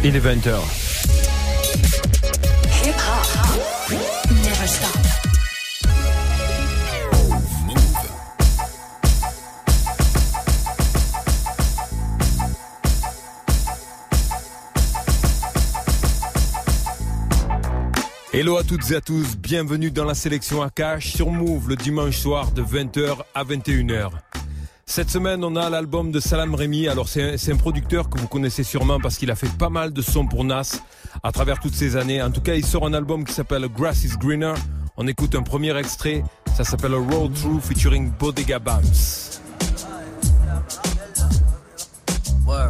Il est 20h. Hip hop never stop. Hello à toutes et à tous, bienvenue dans la sélection Akash sur Move le dimanche soir de 20h à 21h. Cette semaine, on a l'album de Salam Remi. Alors c'est un producteur que vous connaissez sûrement parce qu'il a fait pas mal de sons pour Nas à travers toutes ces années. En tout cas, il sort un album qui s'appelle Grass is Greener. On écoute un premier extrait, ça s'appelle Road Through featuring Bodega Bams. Word.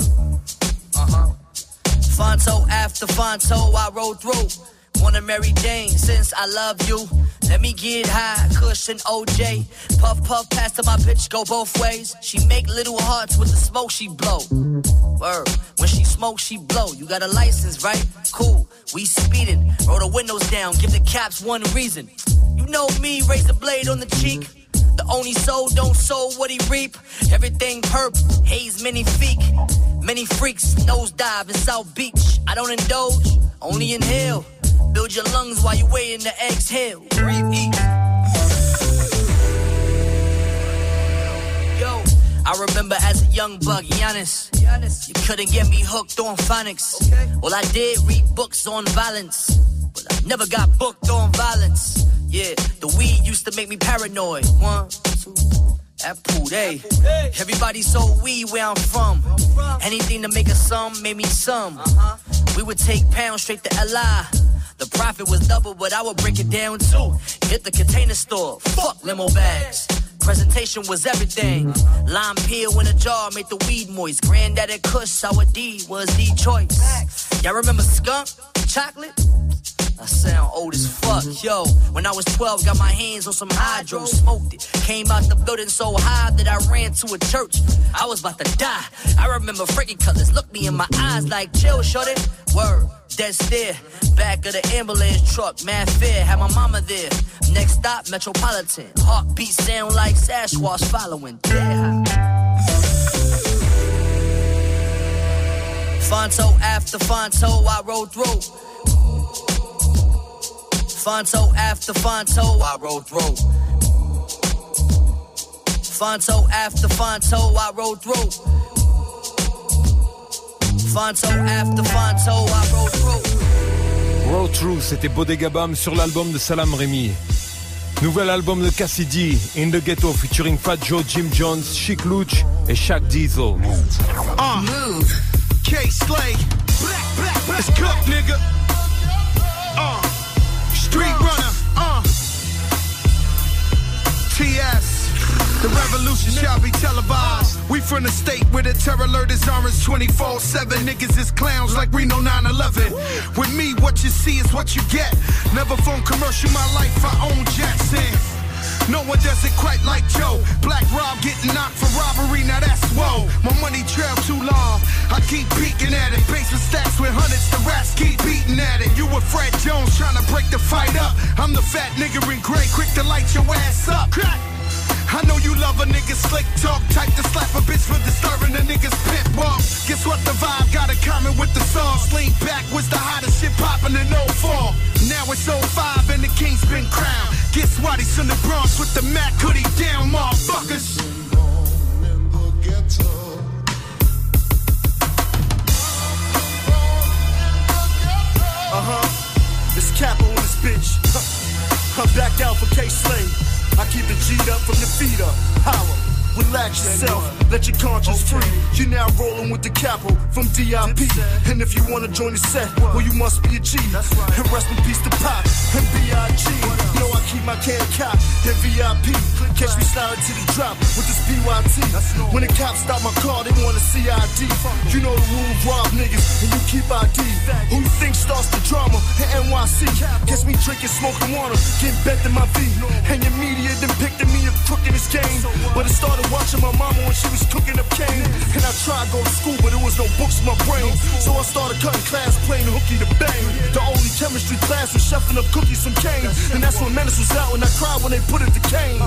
Fonto after Fonto, I rode through. Wanna Mary Jane since I love you. Let me get high, cushion OJ. Puff, puff, pass to my bitch, go both ways. She make little hearts with the smoke she blow. Word. When she smoke, she blow. You got a license, right? Cool. We speeding. Roll the windows down, give the cops one reason. You know me, raise the blade on the cheek. The only soul don't sow what he reap. Everything purple, haze many feet. Many freaks, nosedive in South Beach. I don't indulge, only inhale. Build your lungs while you waiting to exhale. Breathe, eat. Yo, I remember as a young buck, Giannis. You couldn't get me hooked on phonics. Well, I did read books on violence, but I never got booked on violence. Yeah, the weed used to make me paranoid. 1, 2, that pool, hey. Everybody sold weed where I'm from. Anything to make a sum made me some. We would take pounds straight to LI. The profit was double, but I would break it down too. Hit the container store, fuck limo bags. Presentation was everything. Lime peel in a jar made the weed moist. Granddaddy Kush, sour D was the choice. Y'all remember skunk, chocolate? I sound old as fuck, yo. When I was 12, got my hands on some hydro, smoked it. Came out the building so high that I ran to a church. I was about to die. I remember Frankie Cutlass looked me in my eyes like, chill, shorty. Word, dead stare. Back of the ambulance truck, mad fair. Had my mama there. Next stop, Metropolitan. Heartbeat sound like Sasquatch following. Yeah. Fonto after Fonto, I rode through. Fonto after Fonto, I rode through. Fonto after Fonto, I rode through. Fonto after Fonto, I rode through. Road Through, c'était Bodega Bam sur l'album de Salam Remi. Nouvel album de Cassidy, In the Ghetto, featuring Fat Joe, Jim Jones, Chic Luch et Shaq Diesel. Move. K-Slay. Let's cook, nigga. Street runner, TS, the revolution shall be televised. We from the state where the terror alert is orange 24/7. Niggas is clowns like Reno 9/11. With me, what you see is what you get. Never phone commercial, my life, I own Jackson. No one does it quite like Joe. Black Rob getting knocked for robbery, now that's whoa. My money trail too long, I keep peeking at it. Basement stacks with hundreds, the rats keep beating at it. You with Fred Jones trying to break the fight up. I'm the fat nigga in gray, quick to light your ass up. I know you love a nigga slick talk, type to slap a bitch for disturbing the nigga's pit walk. Guess what the vibe got in common with the song? Lean back was the hottest shit poppin' in 04. Now it's 05 and the king's been crowned. Guess what? He's in the Bronx with the Mac hoodie down, motherfuckers. It's Capo in this bitch. I'm back out for K-Slay. I keep the G'd up from the feet up. Holla. Relax yourself, let your conscience free. You now rolling with the capo from DIP. And if you wanna join the set, well you must be a G. And rest in peace to Pop and B.I.G. Know I keep my can cop and VIP. Catch me sliding to the drop with this PYT. When the cops stop my car, they want a CID. You know the rules, rob niggas and you keep ID. Who you think starts the drama in NYC? Catch me drinking, smoking water, getting bent in my V. And your media depicting me a crook in this game. But it started watching my mama when she was cooking up cane. And I tried to go to school, but there was no books in my brain. So I started cutting class, playing hooky to bang. The only chemistry class was chefing up cookies from cane. And that's when Menace was out, and I cried when they put it to Kane.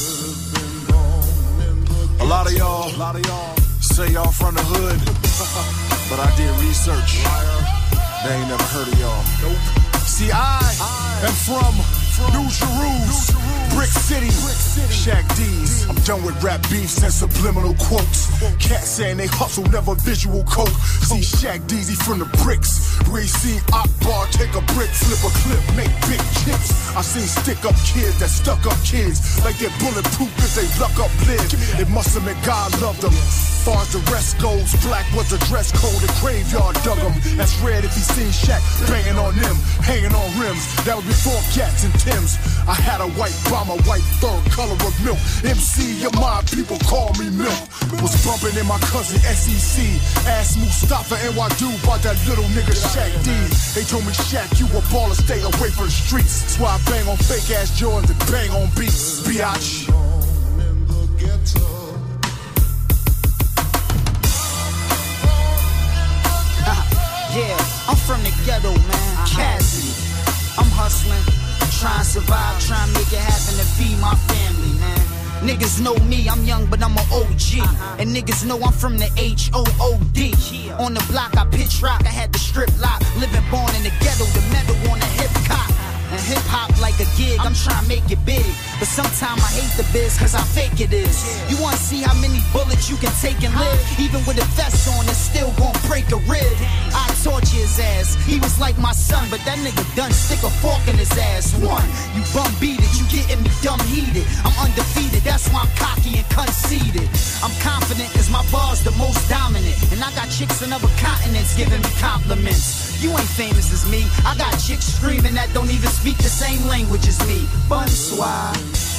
A lot of y'all say y'all from the hood, but I did research. They ain't never heard of y'all. Nope. See, I am from New Jerusalem, Brick City, Shaq D's. I'm done with rap beefs and subliminal quotes. Cats saying they hustle, never visual coke. See, Shaq D's, he from the bricks. We seen Akbar take a brick, flip a clip, make big chips. I seen stick-up kids that stuck up kids like they're bulletproof if they luck up live. It must have been God loved them. Far as the rest goes, black was the dress code. The graveyard dug him. That's red if he seen Shaq banging on them, hanging on rims. That was before Gats and Tims. I had a white bomber, white fur, color of milk. MC, your mind, people call me Milk. Was bumping in my cousin SEC. Asked Mustafa and Wadu about that little nigga Shaq D. They told me, Shaq, you a baller, stay away from the streets. That's why I bang on fake ass Jordans and bang on beats. Biatch. Yeah, I'm from the ghetto, man. Cassidy. I'm hustling, trying to survive, trying to make it happen to feed my family, man. Niggas know me, I'm young, but I'm an OG. And niggas know I'm from the H-O-O-D. On the block, I pitch rock, I had the strip lock. Living born in the ghetto, the metal on the hip hop. And hip hop like a gig, I'm trying to make it big. But sometimes I hate the biz, cause I fake it is. You wanna see how many bullets you can take and live? Even with a vest on, it's still gon' break a rib. I torture his ass, he was like my son, but that nigga done stick a fork in his ass. One, you bum beat it, you getting me dumb heated. I'm undefeated, that's why I'm cocky and conceited. I'm confident cause my bar's the most dominant. And I got chicks in other continents giving me compliments. You ain't famous as me, I got chicks screaming that don't even speak the same language as me. Bonsoir.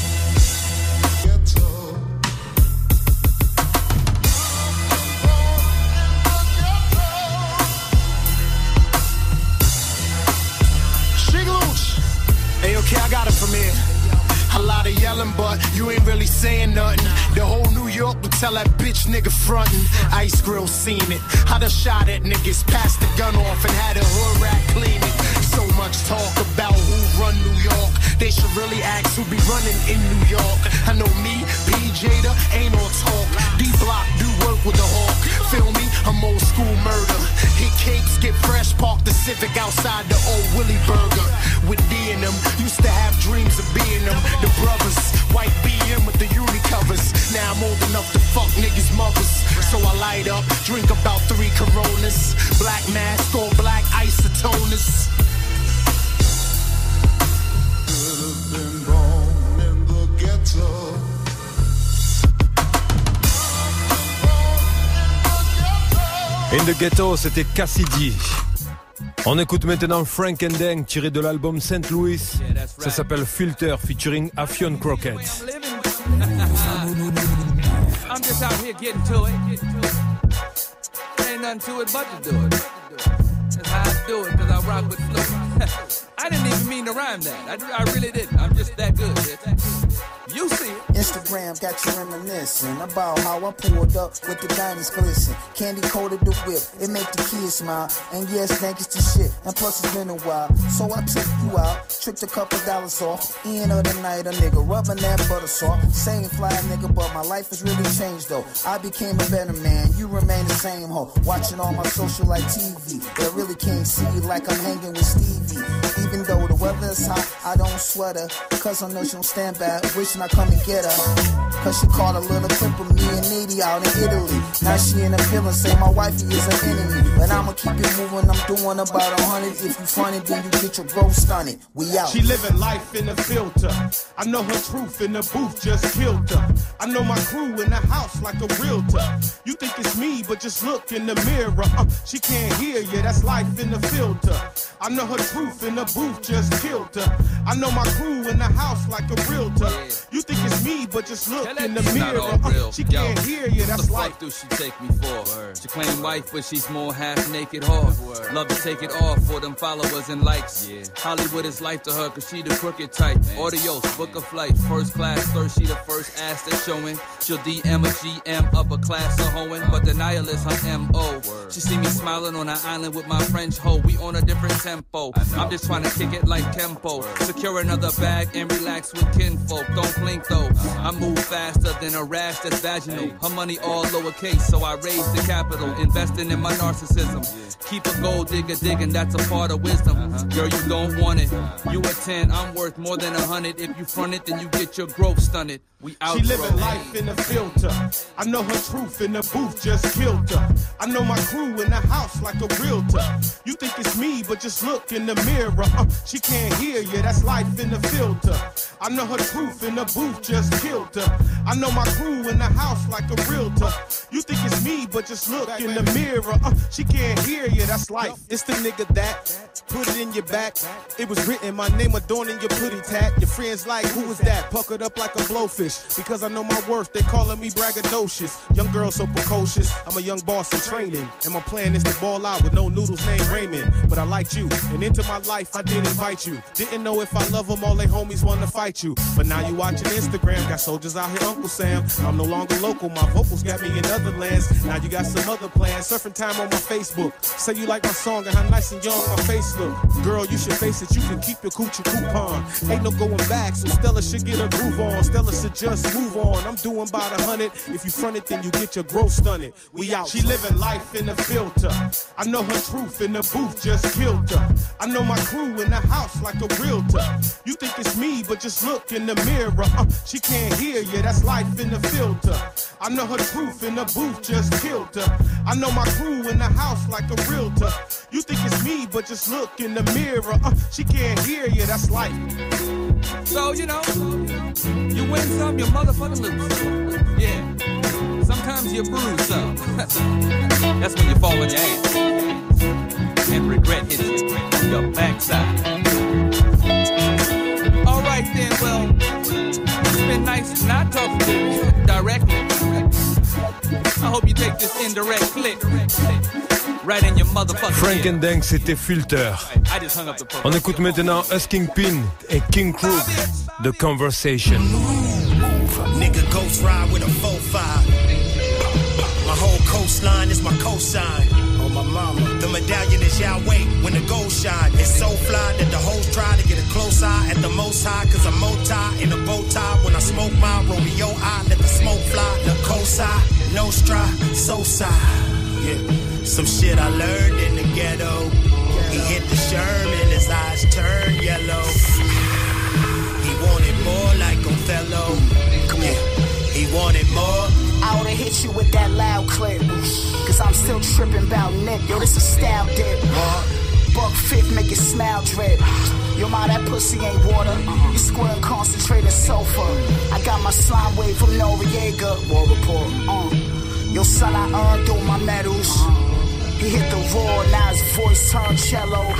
Hey, okay, I got it from here. A lot of yelling, but you ain't really saying nothing. The whole New York would tell that bitch nigga frontin'. Ice Grill seen it. I done shot at niggas, passed the gun off and had a hood rat clean it. So much talk about who run New York. They should really ask who be running in New York. I know me, P. Jada, ain't on talk. D-Block do work with the hawk. Feel me? I'm old school murder. Hit cakes, get fresh, park the Civic outside the old Willie Burger. With D in them, used to have dreams of being them. The brothers, white BM with the uni covers. Now I'm old enough to fuck niggas' mothers. So I light up, drink about 3 Coronas. Black mask, all black isotoners. Could've been born in the ghetto. In the Ghetto, c'était Cassidy. On écoute maintenant Frank and Dang tiré de l'album St. Louis. Ça s'appelle Filter featuring Affion Crockett. I'm just out here getting to it. Ain't nothing to it but to do it. That's how I do it, cause I rock with flow. I didn't even mean to rhyme that. I really didn't. I'm just that good. You see it. Instagram got you reminiscing about how I pulled up with the diamonds glisten. Candy coated the whip, it make the kids smile. And yes, thank you to shit. And plus it's been a while. So I took you out, tricked a couple dollars off. End of the night, a nigga rubbing that butter soft. Same fly nigga, but my life has really changed though. I became a better man, you remain the same hoe. Watching all my social like TV. They really can't see like I'm hanging with Stevie. Even though the weather is hot, I don't sweat her. Cause I know she don't stand bad, wishing I come and get her. Cause she caught a little clip of me and Needy out in Italy. Now she in the feeling, say my wifey is an enemy. But I'ma keep it moving, I'm doing about 100. If you funny, then you get your growth stunted. We out. She living life in a filter. I know her truth in the booth just killed her. I know my crew in the house like a realtor. You think it's me, but just look in the mirror. She can't hear you, that's life in the filter. I know her truth in the booth just killed her. I know my crew in the house like a realtor. You think it's me, but just look in the mirror. She can't hear you, that's life. Do she take me for? She claim wife, but she's more half naked whore. Love to take it off for them followers and likes. Hollywood is life to her, cause she the crooked type. Audios, book a flight, first class, third, she the first ass that's showing. She'll DM a GM, upper class or hoeing, but the nihilist her M.O. She see me smiling on an island with my French hoe. We on a different tempo. I'm just trying to kick it like tempo. Secure another bag and relax with kinfolk. Don't blink though. I move fast faster than a rash that's vaginal. Her money all lowercase, so I raise the capital. Investing in my narcissism. Keep a gold digger digging, that's a part of wisdom. Girl, you don't want it. You a 10, I'm worth more than 100. If you front it, then you get your growth stunted. We out. She living life in a filter. I know her truth in the booth just killed her. I know my crew in the house like a realtor. You think it's me, but just look in the mirror. She can't hear you, that's life in the filter. I know her truth in the booth just killed her. I know my crew in the house like a realtor. You think it's me, but just look in the mirror. She can't hear you, that's life. It's the nigga that put it in your back. It was written, my name adorning your putty tat. Your friends like, who was that? Puckered up like a blowfish. Because I know my worth, they calling me braggadocious. Young girl so precocious, I'm a young boss in training. And my plan is to ball out with no noodles named Raymond. But I liked you, and into my life I did invite you. Didn't know if I love them, all they homies wanna fight you. But now you watching Instagram, got soldiers out here, Uncle Sam. I'm no longer local, my vocals got me in other lands. Now you got some other plans, surfing time on my Facebook. Say you like my song and how nice and young my face look. Girl, you should face it, you can keep your coochie coupon. Ain't no going back, so Stella should get a groove on. Stella should just move on. I'm doing about 100. If you front it, then you get your growth stunted. We out. She living life in a filter. I know her truth in the booth just killed her. I know my crew in the house like a realtor. You think it's me, but just look in the mirror. She can't hear you, that's life in the filter. I know her truth in the booth just killed her. I know my crew in the house like a realtor. You think it's me, but just look in the mirror. She can't hear you, that's life. So, you know, you win some, you motherfucking lose. Yeah. Sometimes you bruise some. That's when you fall on your ass. And regret hits your backside. Alright then, well, it's been nice not talking to you directly. I hope you take this indirect clip. Right in your motherfucking Frank and Dank, c'était Filter. On écoute maintenant Husking Pin et King Crook, The Conversation. Nigga ghost ride with a 4-5. My whole coastline is my cosign. Oh my mama. The medallion is Yahweh when the gold shine. It's so fly that the hoes try to get a close eye at the most high. Cause I'm moti in a bow tie. When I smoke my rodeo, I let the smoke fly. The cosign, no stride, so side. Yeah. Some shit I learned in the ghetto. He hit the Sherman, his eyes turned yellow. He wanted more like Othello. Yeah, he wanted more. I would've hit you with that loud clip. Cause I'm still tripping about Nick. Yo, this a style dip. Buck fifth, make it smile drip. Yo, ma, that pussy ain't water. You squirting concentrated sulfur. I got my slime wave from Noriega. War report. Yo, son, I earned all my medals. He hit the roar, now his voice turned cello.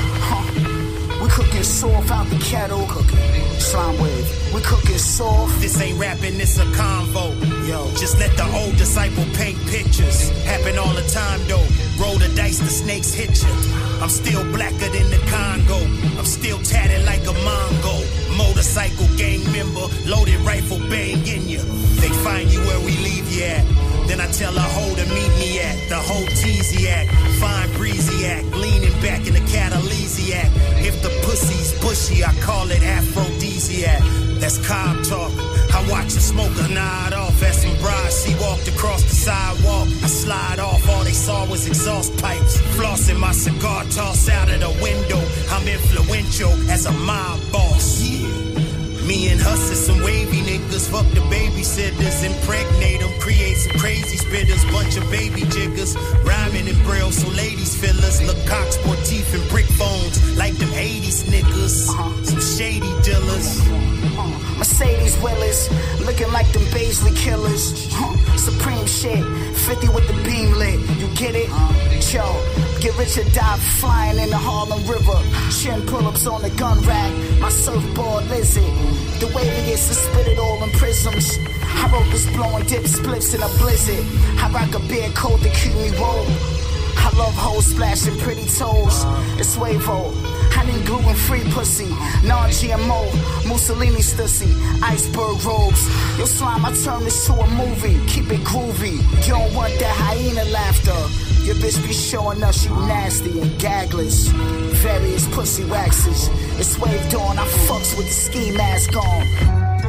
We cooking soft out the kettle. Slime wave, we cooking soft. This ain't rapping, it's a convo. Yo, just let the old disciple paint pictures. Happen all the time though. Roll the dice, the snakes hit you. I'm still blacker than the Congo. I'm still tatted like a Mongo. Motorcycle gang member, loaded rifle banging you. They find you where we leave you at. Then I tell a hoe to meet me at the whole Teasiac, fine breeziac, leaning back in the Catalesiac. If the pussy's bushy, I call it aphrodisiac. That's Cobb talk. I watch a smoker nod off at some bride. She walked across the sidewalk. I slide off. All they saw was exhaust pipes. Flossing my cigar, tossed out of the window. I'm influential as a mob boss. Yeah. Me and Huss is some wavy niggas. Fuck the babysitters, impregnate them. Create some crazy spitters, bunch of baby jiggers. Rhyming in braille so ladies feel us. Look cock sportif and brick phones like them 80s niggas. Some shady dealers. Mercedes Willers, looking like them Baisley killers. Supreme shit, 50 with the beam lit. You get it? Yo, get rich or die flying in the Harlem River. Chin pull-ups on the gun rack, my surfboard lizard. The way we get to spit it all in prisms. I wrote this blowing dip splits in a blizzard. I rock a beard coat to keep me roll. I love hoes splashing pretty toes. It's Wavo. I need gluten-free pussy, non-GMO, Mussolini stussy, iceberg robes. Yo, slime, I turn this to a movie, keep it groovy. You don't want that hyena laughter. Your bitch be showing us she nasty and gagless. Various pussy waxes. It's waved on, I fucks with the ski mask on.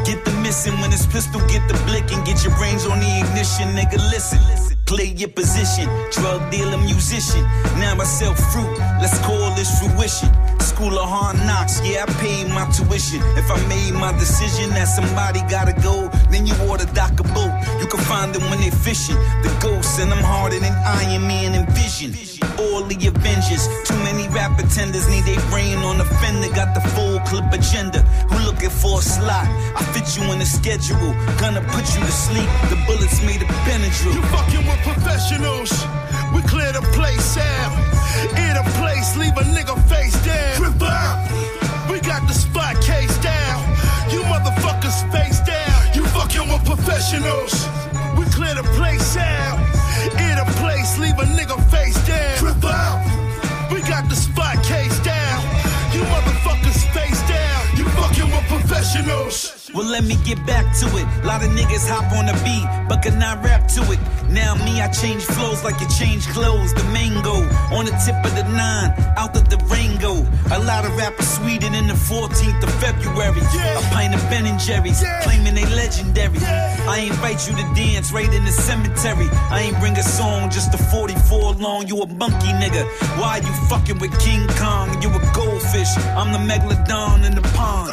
Get the missing when it's pistol, get the blick and get your brains on the ignition, nigga. Listen. Play your position, drug dealer, musician. Now I sell fruit, let's call this fruition. School of hard knocks, yeah, I paid my tuition. If I made my decision that somebody gotta go, then you oughta dock a boat. You can find them when they fishing. The ghosts, and I'm harder than Iron Man and Vision. All the Avengers, too many rap pretenders need their brain on the fender. Got the full clip agenda. Who looking for a slot? I fit you in the schedule. Gonna put you to sleep. The bullets made a Benadryl. You fucking with professionals. We clear the place out. In a place, leave a nigga face down. Trip out. We got the spot case down. You motherfuckers face down. You fucking with professionals. We clear the place out. In a place, leave a nigga face down. Trip out. We got the spot case down. You motherfuckers face down. You fucking with professionals. Well, let me get back to it. A lot of niggas hop on the beat, but cannot rap to it. Now me, I change flows like you change clothes. The mango on the tip of the 9, out of the Rango. A lot of rappers sweeter than the 14th of February. A pint of Ben and Jerry's, claiming they legendary. I invite you to dance right in the cemetery. I ain't bring a song, just a 44 long. You a monkey nigga. Why you fucking with King Kong? You a goldfish. I'm the megalodon in the pond.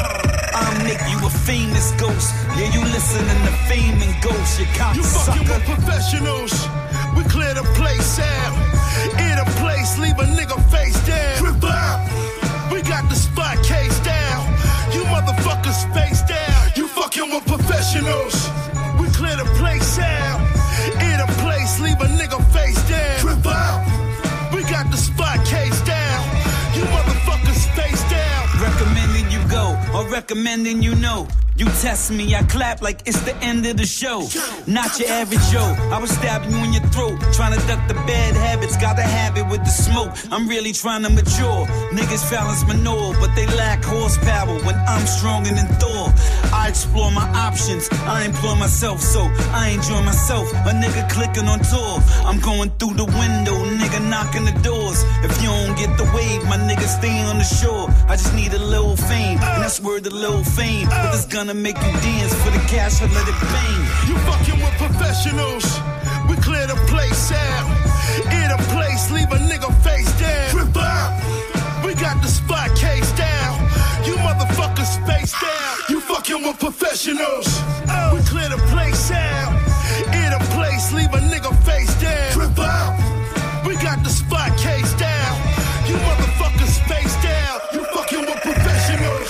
I'll make you a famous ghost. Yeah, you listening to Fame and Ghost, you cocksucker. You fucking with professionals. We clear the place out. In a place, leave a nigga face down. Trip out. We got the spot case down. You motherfuckers face down. You fucking with professionals. We clear the place out. In a place, leave a nigga face down. Trip out. We got the spot case down. You motherfuckers face down. Recommending you go, or recommending you know. You test me, I clap like it's the end of the show. Not your average Joe, I was stabbing you in your throat. Trying to duck the bad habits, got a habit with the smoke. I'm really trying to mature. Niggas balance manure, but they lack horsepower when I'm stronger than Thor. I explore my options, I employ myself, so I enjoy myself. A nigga clicking on tour, I'm going through the window, nigga knocking the doors. If you don't get the wave, my nigga stay on the shore. I just need a little fame, and that's word a little fame. But it's gonna make you dance for the cash or let it bang. You fucking with professionals. We clear the place out. In a place, leave a nigga face down. Trip out. We got the spot case down. You motherfuckers face down. You fucking with professionals. We clear the place out. In a place, leave a nigga face down. Trip out. We got the spot case down. You motherfuckers face down. You fucking with professionals.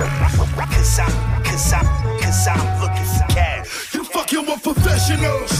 Cause I'm looking for cash. You fucking with professionals.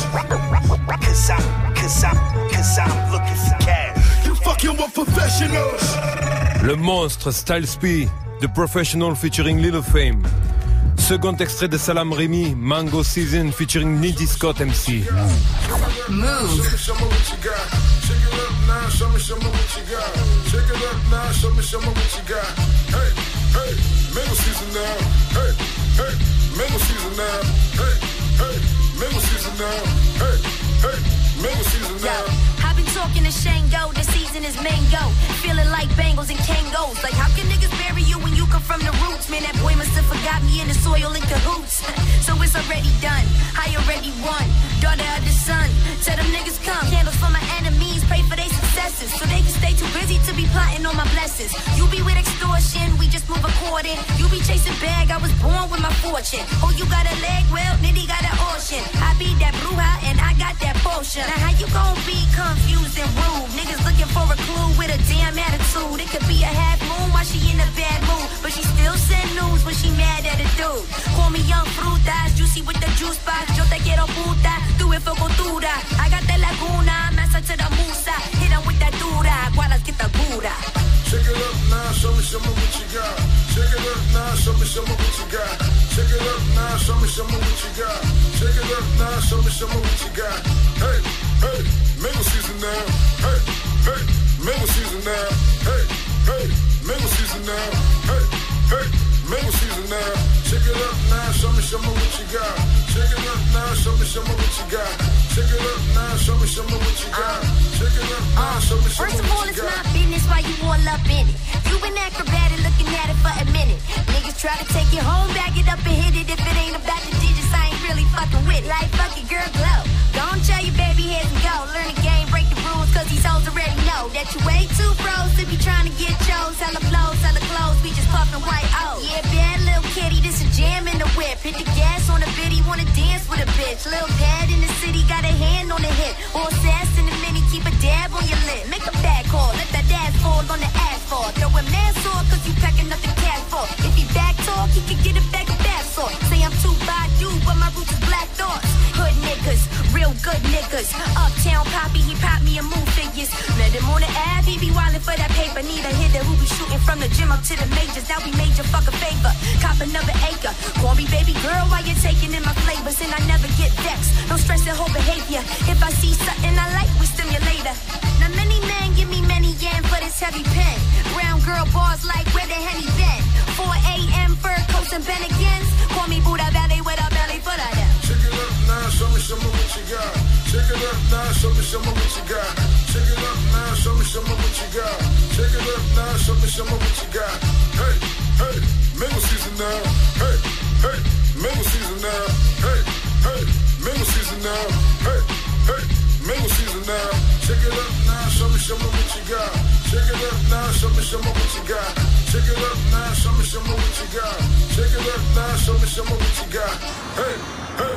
Cause I'm looking for cash. You fucking with professionals. Le monstre Styles P, The Professional featuring Lil Fame. Second extrait de Salam Remy, Mango Season featuring Nitty Scott MC. Move. Show me what you got. Shake it up now, show me what you got. Shake it up now, show me what you got. Hey, hey, mango season now. Hey, hey, mango season now. Hey, hey, mango season now. Hey, hey, mango season now. I've been talking to Shango, the season is mango. Feeling like Bengals and Kangos. Like how can niggas bury you when you come from the roots? Man, that boy must have forgot me in the soil in cahoots. So it's already done, I already won. Daughter of the sun, tell them niggas come. Candles for my enemies, pray for their successes. So they can stay too busy to be plotting on my blessings. You be with extortion, we just move according. You be chasing bag, I was born with my fortune. Oh, you got a leg, well, Nitty got an ocean. I be that bruja and I got that potion. Now how you gon' be confused and rude? Niggas looking for a clue with a damn attitude. It could be a half moon while she in a bad mood, but she still send news when she mad at a dude. Call me young frutas, juicy with the juice box. Yo te quiero puta, tu es focotura. I got that laguna, massa to the musa. Hit 'em with that dura, gualas get the gura. Shake it up now, show me what you got. Shake it up now, show me what you got. Shake it up now, show me what you got. Shake it up now, show me what you got. Hey, hey, mango season now. Hey, hey, mango season now. Hey, hey, mango season now. Hey, hey, mango season now. Shake it up now, show me what you got. Shake it up now, show me what you got. Shake it up now, show me what you got. Shake it up now, show me what you got. First of all, it's my business why you all up in it. You been acrobatic looking at it for a minute. Niggas Try to take it home, bag it up and hit it. If it ain't about the digits, I ain't really fucking with it. Like fuck it, girl, glow. Don't tell your baby heads and go. Learn the game, break the rules, cause these hoes already know that you way too froze to be trying to get chose. Hella flows, hella clothes, we just puffin' white O. Yeah, bad little kitty, this a jam in the whip. Hit the gas on the bitty, wanna dance with a bitch. Lil' pad in the city, got a hand on the hip. All sass in the mini, keep a dab on your lip. Make a bad call, let that ass fall on the asphalt. Throw a man sore, cause you packing nothing cash for. If he back talk, he can get a bag of bath salt. Say I'm too Badu, but my roots is black thoughts. Hood niggas, real good niggas. Uptown Poppy, he pop me a move figures. Met him on the Ave, he be wildin' for that paper. Need a hitter who be shooting from the gym up to the majors. Now we made your fuck a favor, cop another acre. Call me baby girl while you're taking in my flavors. And I never get vexed, no stress in whole behavior. If I see something I like, we stimulator. Now many men give me many yen for this heavy pen. Brown girl bars like where the Henny been. 4 a.m. fur coats and Ben agains. Call me Buddha Valley with a belly full of them. Shake it up now, show me what you got. Shake it up now, show me what you got. Shake it up now, show me what you got. Shake it up now, show me what you got. Hey, hey, mango season now. Hey, hey, mango season now. Hey, hey, mango season now. Hey, hey, mango season now. Shake it up now, show me what you got. Shake it up now, show me what you got. Shake it up now, show me what you got. Shake it up now, show me what you got. Hey, hey.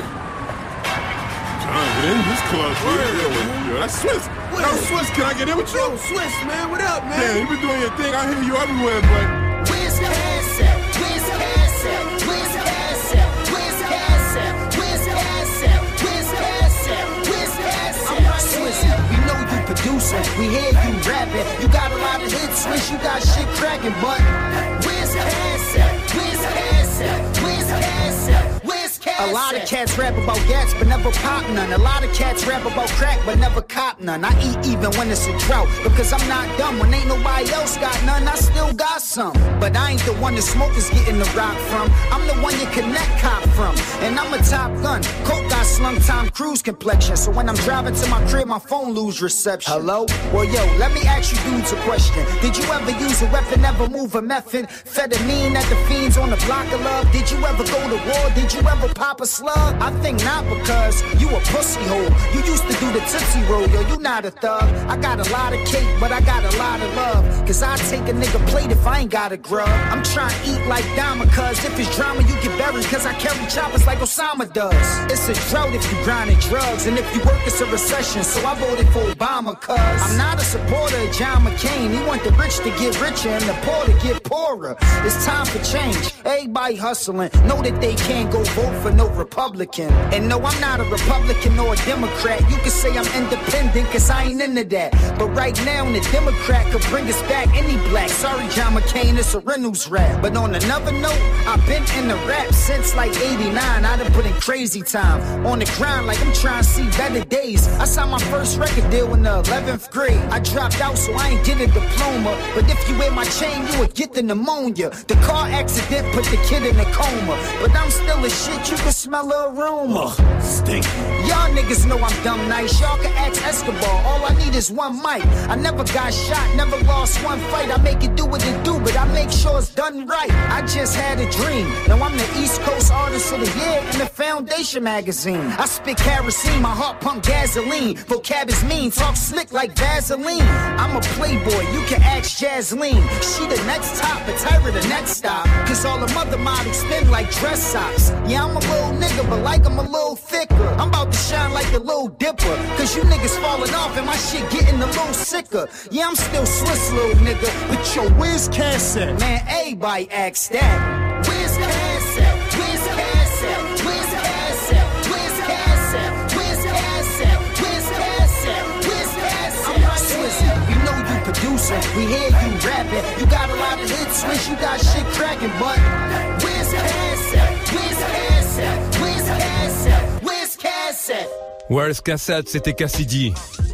Get in this club, yo, that's Swiss. Yo, Swiss, can I get in with you? Yo, Swiss, man, what up, man? Yeah, you been doing your thing. I hear you everywhere, but where's cash at? Where's cash at? Where's cash at? Where's cash at? Where's cash at? Where's cash at? Where's cash at? Swiss, we know you producing. We hear you rapping. You got a lot of hits, Swiss. You got shit cracking, but where's cash at? Where's cash at? Where's cash at? A lot of cats rap about gats, but never pop none. A lot of cats rap about crack, but never cop none. I eat even when it's a drought, because I'm not dumb. When ain't nobody else got none, I still got some. But I ain't the one the smokers getting the rock from. I'm the one you connect cop from. And I'm a top gun. Coke got slung Tom Cruise complexion. So when I'm driving to my crib, my phone lose reception. Hello? Well, yo, let me ask you dudes a question. Did you ever use a weapon, ever move a methamphetamine at the fiends on the block of love? Did you ever go to war? Did you ever pop a slug? I think not, because you a pussy hole. You used to do the Tootsie Roll, yo, you not a thug. I got a lot of cake, but I got a lot of love. Cause I take a nigga plate if I ain't got a grub. I'm trying to eat like Dama, cause if it's drama, you get buried. Cause I carry choppers like Osama does. It's a drought if you grinding drugs, and if you work, it's a recession. So I voted for Obama, cause I'm not a supporter of John McCain. He want the rich to get richer and the poor to get poorer. It's time for change. Everybody hustling. Know that they can't go vote for no Republican. And no, I'm not a Republican or a Democrat. You can say I'm independent, cause I ain't into that. But right now, the Democrat could bring us back any black. Sorry, John McCain, it's a Reynolds rap. But on another note, I've been in the rap since like 89. I done put in crazy time. On the grind like I'm trying to see better days. I signed my first record deal in the 11th grade. I dropped out, so I ain't get a diploma. But if you wear my chain, you would get the pneumonia. The car accident put the kid in a coma. But I'm still a shit, you can smell the aroma. Stink. Y'all niggas know I'm dumb nice. Y'all can ask Escobar. All I need is one mic. I never got shot, never lost one fight. I make it do what it do, but I make sure it's done right. I just had a dream. Now I'm the East Coast Artist of the Year in the Foundation magazine. I spit kerosene, my heart pump gasoline. Vocab is mean, talk slick like Vaseline. I'm a playboy, you can ask Jasleen. She the next top, but Tyra the next stop. Cause all the mother models spin like dress socks. Yeah, I'm a little nigga, but like I'm a little thicker. I'm about to shine like the Little Dipper. Cause you niggas falling off and my shit getting a little sicker. Yeah, I'm still Swiss, little nigga. But yo, where's Cass at? Man, everybody asks that. Where's Cass at? Where's Cass at? Where's Cass at? Where's Cass at? Where's Cass at? Where's Cass at? Where's Cass at? Swiss, we know you producing. We hear you rapping. You got a lot of hits, Swiss. You got shit cracking, but where's Cass at? Where's Cass at? Where's Cass at? Where's Cass at? Where's Cassette, c'était Cassidy.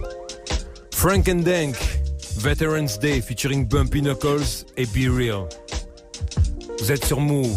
Frank and Dank, Veterans Day featuring Bumpy Knuckles et Be Real. Vous êtes sur Move.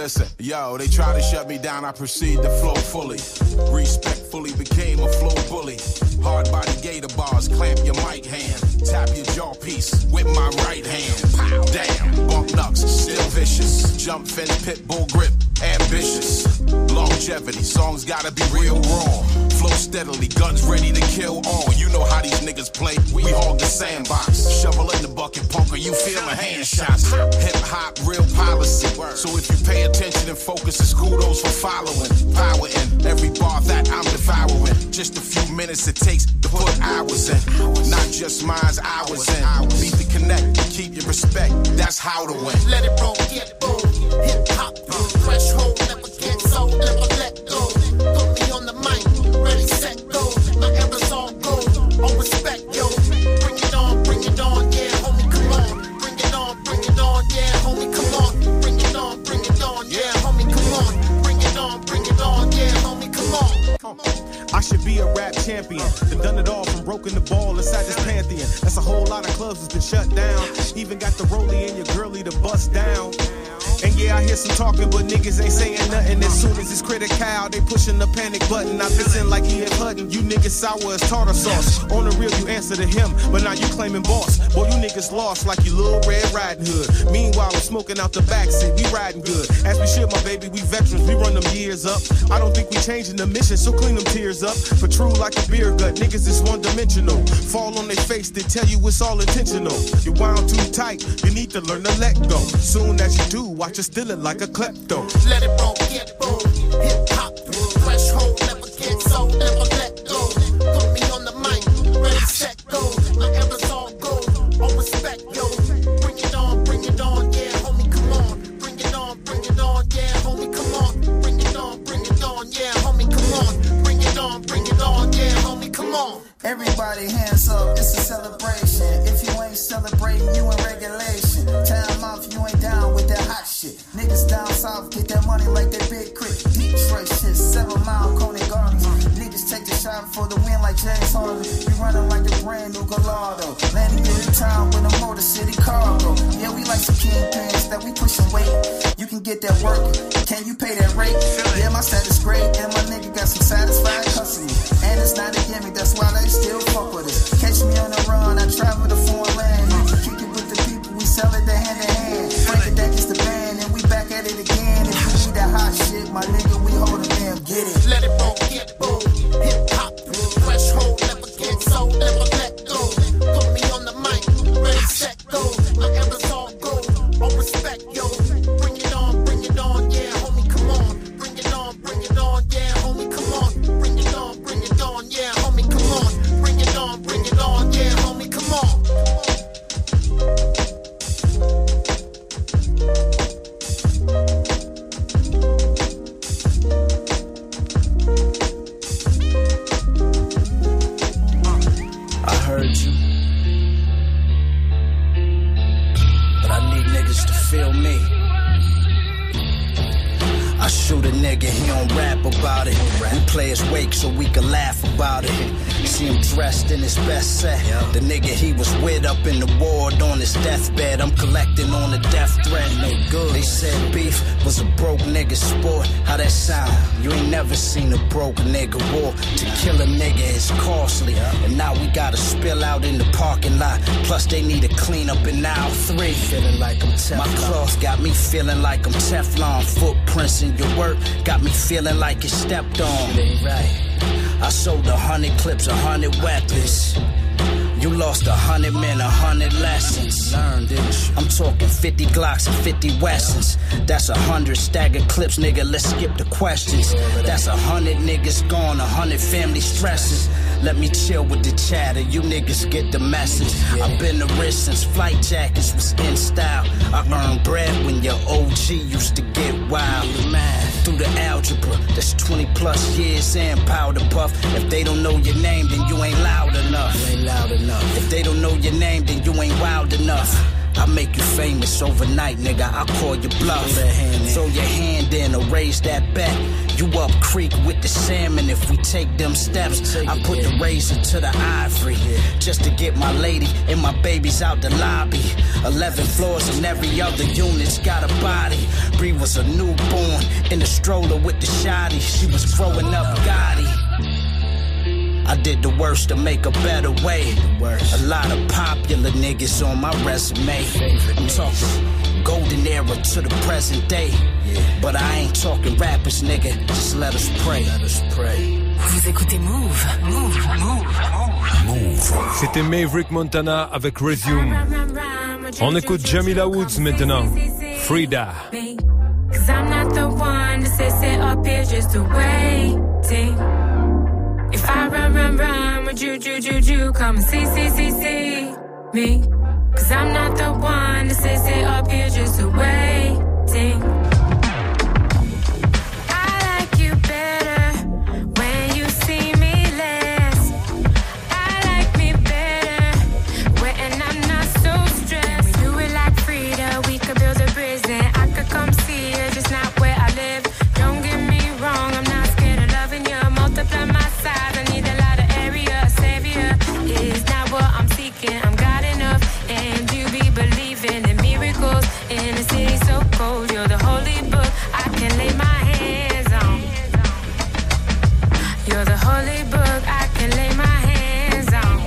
Listen, yo, they try to shut me down, I proceed to flow fully. Respectfully became a flow bully. Hard body gator bars, clamp your mic hand. Tap your jaw piece with my right hand. Pow, damn, bump knucks, still vicious. Jump fence, pit bull grip, ambitious. Longevity, songs gotta be real raw. Flow steadily, guns ready to kill all. You know how these niggas play, we hog the sandbox. Shovel in the bucket, punker, you feel my hand shots. Hip hop, real policy. So if you pay attention and focus, it's kudos for following. Power in every bar that I'm devouring. Just a few minutes it takes to put hours in. Not just mine's hours in. Beat the connect, keep your respect. That's how to win. Let it roll, get bold. Hip hop, threshold, never get sold, never let go. Put me on the mic, ready, set, go. My era's all gold, all respect, yo. Bring it on, yeah, homie, come on. Bring it on, yeah, homie, come on. Bring it on, yeah, homie, come on. Bring it on, yeah, homie, come on. I should be a rap champion. Done it all from broken the ball inside this pantheon. That's a whole lot of clubs that's been shut down. Even got the rollie and your girlie to bust down. And yeah, I hear some talking, but niggas ain't saying nothing. As soon as it's critical, they pushing the panic button. I listen like E.F. Hutton. You niggas sour as tartar sauce. On the real, you answer to him, but now you claiming boss. Boy, you niggas lost like you little Red Riding Hood. Meanwhile, I'm smoking out the backseat. We riding good. As we should, my baby, we veterans. We run them years up. I don't think we changing the mission, so clean them tears up. For true like a beer gut, niggas is one-dimensional. Fall on their face, they tell you it's all intentional. You wound too tight, you need to learn to let go. Soon as you do, watch you stealing like a klepto. Let it roll, get bold. Hip hop, threshold, never get sold, never let go. Put me on the mic, ready, set, go. My era's all gold, all respect, yo. Bring it on, yeah, homie, come on. Bring it on, yeah, homie, come on. Bring it on, yeah, homie, come on. Bring it on, yeah, homie, come on. Everybody hands up, it's a celebration. If you ain't celebrating, you in regulation. Time off, you ain't down with that hot shit. Niggas down south get that money like that big crit. Detroit shit, 7 Mile, Coney Gardens. Niggas take the shot for the win like James Harden. We running like the brand new Gallardo. Landing in the town with a Motor City cargo. Yeah, we like some kingpins that we pushing weight. You can get that work, can you pay that rate? Yeah, my status great, and my nigga got some satisfied customers. And it's not a gimmick, that's why they still fuck with us. Catch me on the run, I travel to foreign land. You can kick it with the people, we sell it hand in hand. Break it down, just the band, and we back at it again. If you need that hot shit, my nigga, we hold it down, get it. Let it roll, get bold. Hip hop, threshold, never get sold, never let go. Put me on the mic, ready, set, go. My era's all gold, all respect, yo. Bring it on, yeah, homie, come on. Bring it on, yeah, homie, come on. Bring it on, yeah, homie, come on. Bring it on, yeah, homie, come on. I heard you, but I need niggas to feel me. I shoot a nigga, he don't rap about it. We play his wake so we can laugh about it. See him dressed in his best set. The nigga he was with up in the ward on his deathbed. I'm collecting on the death threat. No good. They said beef was a broke nigga sport. How that sound? You ain't never seen a broke nigga war. To kill a nigga is costly. And now we gotta spill out in the parking lot. Plus they need to clean up in aisle 3. Feeling like I'm Teflon. My cloth got me feeling like I'm Teflon. Footprints in your work got me feeling like it stepped on. Right. I sold 100 clips, 100 weapons. You lost 100 men, 100 lessons. Learned, didn't you? I'm talking 50 Glocks and 50 Wessons. That's 100 staggered clips, nigga. Let's skip the questions. That's 100 niggas gone, 100 family stresses. Let me chill with the chatter, you niggas get the message. I've been the risk since flight jackets was in style. I earned bread when your OG used to get wild. Man, through the algebra, that's 20 plus years in powder puff. If they don't know your name, then you ain't loud enough. You ain't loud enough. If they don't know your name, then you ain't wild enough. I make you famous overnight, nigga. I'll call you bluff. Throw your hand in or raise that bet. You up creek with the salmon. If we take them steps, I put the razor to the ivory just to get my lady and my babies out the lobby. 11 floors and every other unit's got a body. Bree was a newborn in the stroller with the shotty. She was growing up Gotti. I did the worst to make a better way. A lot of popular niggas on my resume. I'm talking golden era to the present day. But I ain't talking rappers, nigga. Just let us pray. Vous écoutez Move. C'était Maverick Montana avec Resume. On écoute Jamila Woods maintenant. Frida. Cause I'm not the one to sit up here just waiting. If I run, would you come and see me? Cause I'm not the one to sit up here just waiting. I like you better when you see me less. I like me better when I'm not so stressed. Can we do it like Frida? We could build a prison. I could come see you, just not where I live. Don't get me wrong, I'm not scared of loving you. Multiply my size, I need a lot of area. A savior is not what I'm seeking. I'm God enough, and you be believing in miracles in a city so cold. You're the holy book I can lay my hands on. You're the holy book I can lay my hands on.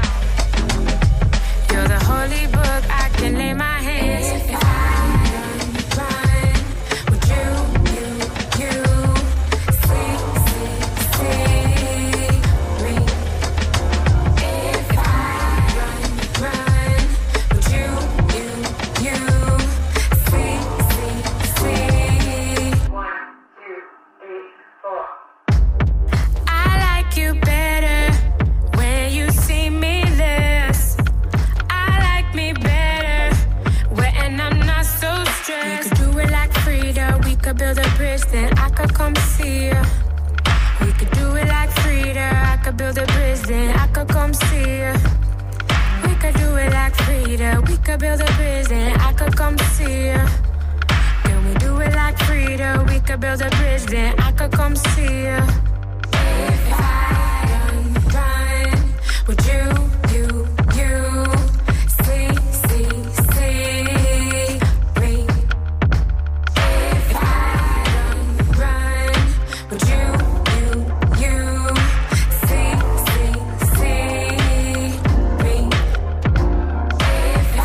You're the holy book I can lay my hands on. If I run, would you see me? If I run, would you see? 1, 2, 3, 4. I like you better when you see me less. I like me better when I'm not so stressed. We could do it like Frida. We could build a bridge, then I could come see you. We could do it like Frida. I could build a bridge, then I could come see you. We could do it like Frida. We could build a bridge, then I could come see you. Can we do it like Frida? We could build a bridge, then I could come see you. If I run, would you see me? If I run, would you see me? If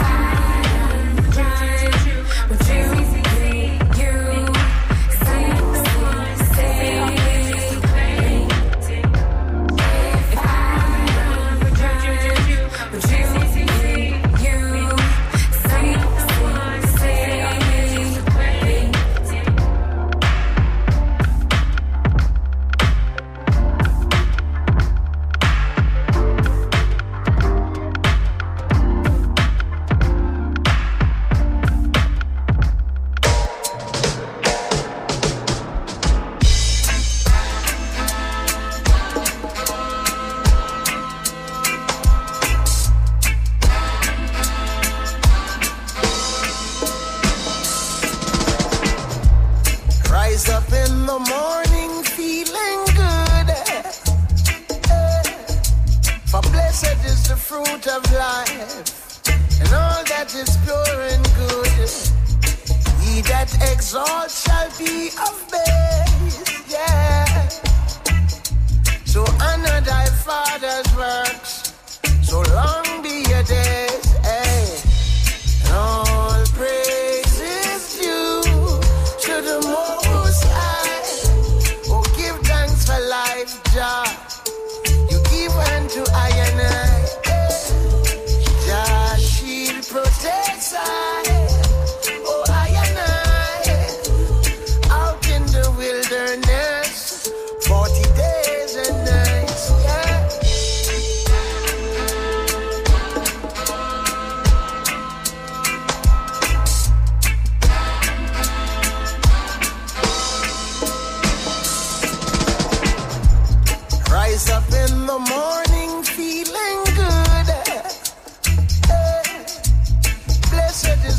I run, would you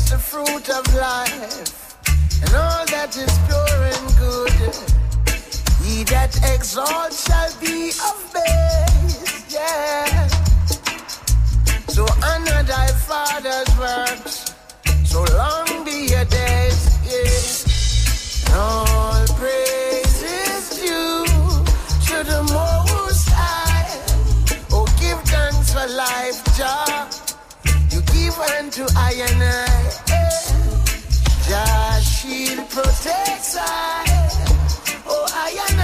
life, and all that is pure and good. He that exalts shall be of base, yeah. So honor thy father's works, so long be your days, yeah. All praise is due to the Most High. Oh, give thanks for life, Jah. You give unto I and I, yeah. Jah shield protects I. Oh, I and